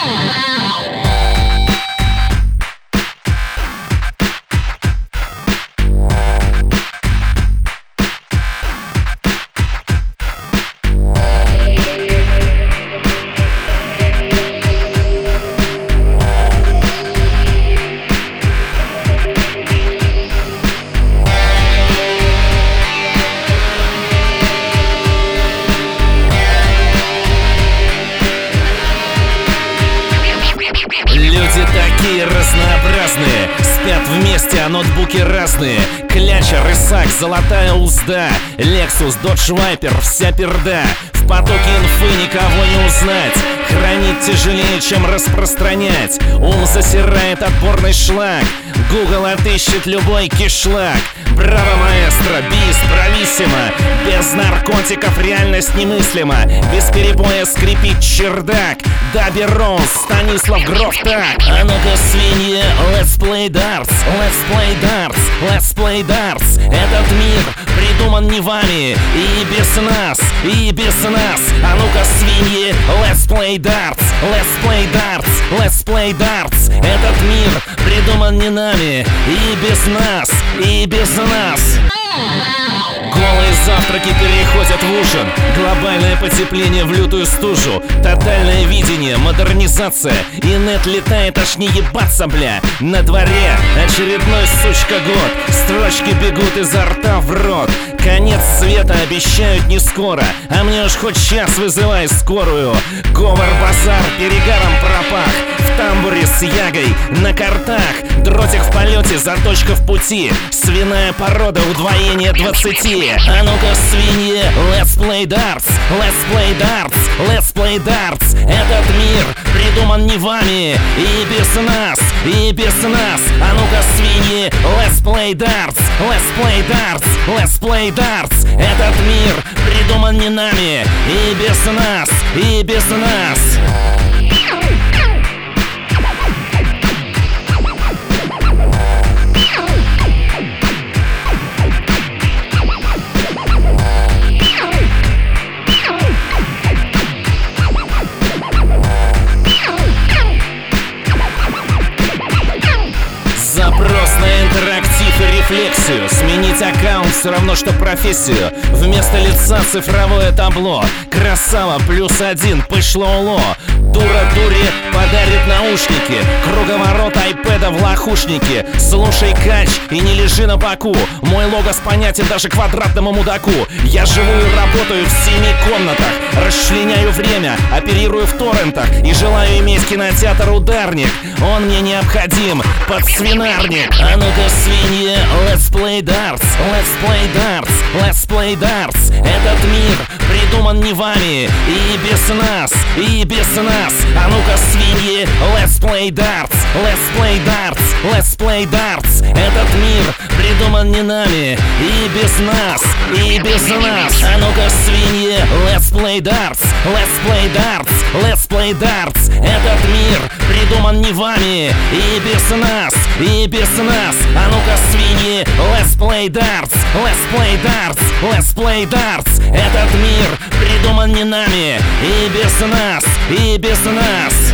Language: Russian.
Люди такие разнообразные, спят вместе, а ноутбуки разные. Кляча, рысак, золотая узда, Lexus, Dodge Viper, вся перда. В потоке инфы никого не узнать, хранить тяжелее, чем распространять. Ум засирает отборный шлак, Google отыщет любой кишлак. Браво, маэстро, бис, брависсимо. Без наркотиков реальность немыслима. Без перебоя скрипит чердак. Даби Роуз, Станислав Гроф, так. А ну-ка, свиньи, let's play darts, let's play darts, let's play darts. Этот мир придуман не вами, и без нас, и без нас. А ну-ка, свиньи, let's play darts, let's play darts, let's play darts. Этот мир придуман не нами, и без нас, и без нас. Голые завтраки переходят в ужин, глобальное потепление в лютую стужу, тотальное видение, модернизация, и нет летает, аж не ебаться, бля. На дворе очередной, сучка, год, строчки бегут изо рта в рот. Конец света обещают не скоро, а мне уж хоть час вызывай скорую. Говор-базар перегаром пропах, в тамбуре с ягой на картах. Дротик в полете, заточка в пути, свиная порода, удвоение 20. А ну-ка, свиньи, let's play darts, let's play darts, let's play darts. Этот мир придуман не вами, и без нас, и без нас. А ну-ка, свиньи, let's play darts, let's play darts, let's play darts. Этот мир придуман не нами, и без нас, и без нас. Запрос на интерактив и рефлексию. Сменить аккаунт все равно, что профессию. Вместо лица цифровое табло. Красава +1, пошло уло. Дура дуре подарит наушники. Круговорот айпэда в лохушнике. Слушай кач и не лежи на боку. Мой логос понятен даже квадратному мудаку. Я живу и работаю в 7 комнатах. Расчленяю время, оперирую в торрентах. И желаю иметь кинотеатр «Ударник». Он мне необходим под свинарник. А ну-ка, свиньи, let's play darts, let's play darts, let's play darts. Этот мир придуман не вами, и без нас, и без нас. А ну-ка, свиньи, let's play darts, let's play darts, let's play darts. Этот мир придуман не нами, и без нас, и без нас. А ну-ка, свиньи, let's play darts, let's play darts, let's play darts. Этот мир придуман не вами, и без нас, и без нас. А ну-ка, свиньи, let's play darts, let's play darts, let's play darts. Этот мир придуман не нами, и без нас, и без нас.